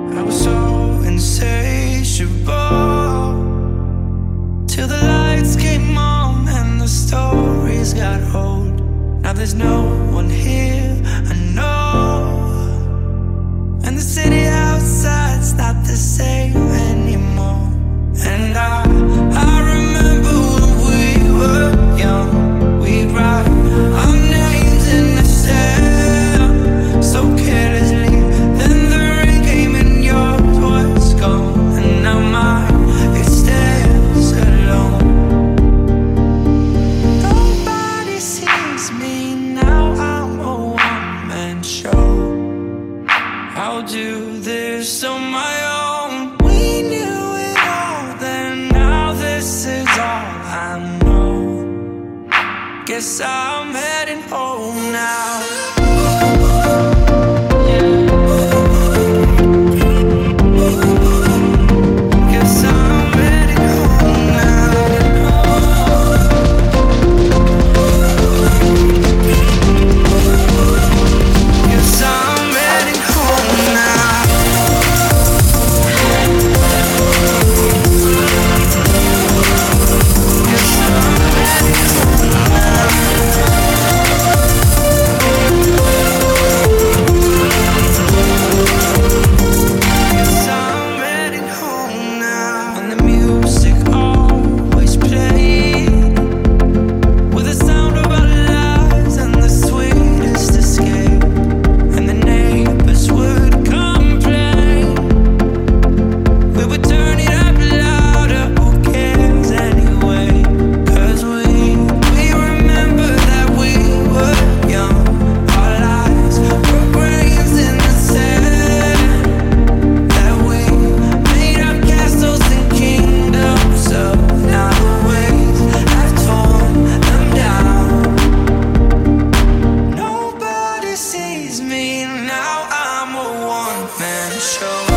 I was so insatiable till the lights came on and the stories got old. Now there's no one here, I know, and the city outside's not the same anymore. And I remember when we were young, we'd write our names in the sand so carelessly. Then the rain came and yours was gone, and now mine, it stands alone. Nobody sees me now, I'm a one-man show. I'll do this on my own. We knew it all then, now this is all I know. Guess I'm heading home now. Guess I'm heading home now. Guess I'm heading home now. Guess I'm heading home now. Guess I'm heading home now. And the music always played with the sound of our lives and the sweetest escape. And the neighbors would complain. We would turn it up louder, who cares anyway? 'Cause we remember that we were young. Our lives were grains in the sand. That we made our castles and kingdoms up. Now the waves have torn them down. Nobody sees me now, I'm a one-man show.